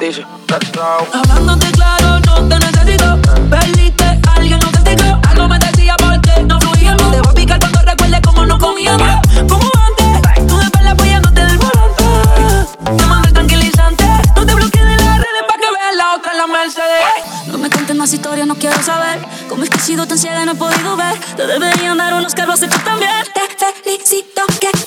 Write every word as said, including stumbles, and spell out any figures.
dice, let's go. Hablándote claro, no te necesito. Perdiste, alguien no te explicó. Algo me decía porque no fluíamos. Te voy a picar cuando recuerdes cómo no comíamos. Como antes, tú de perla apoyándote del volante. Te mandé tranquilizante. No te bloquees de las redes pa' que veas la otra en la Mercedes. No me cuentes más historias, no quiero saber cómo es que he sido tan ciega y no he podido ver. Te deberían dar unos carros hechos también. Te felicito que